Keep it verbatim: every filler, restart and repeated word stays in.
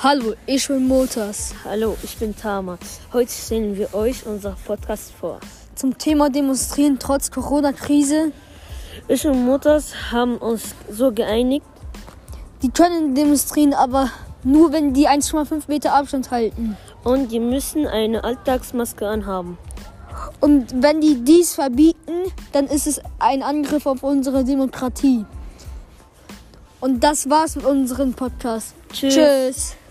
Hallo, ich bin Motors. Hallo, ich bin Tama. Heute stellen wir euch unser Podcast vor. Zum Thema Demonstrieren trotz Corona-Krise. Ich und Motors haben uns so geeinigt. Die können demonstrieren, aber nur wenn die eins Komma fünf Meter Abstand halten. Und die müssen eine Alltagsmaske anhaben. Und wenn die dies verbieten, dann ist es ein Angriff auf unsere Demokratie. Und das war's mit unserem Podcast. Tschüss. Tschüss.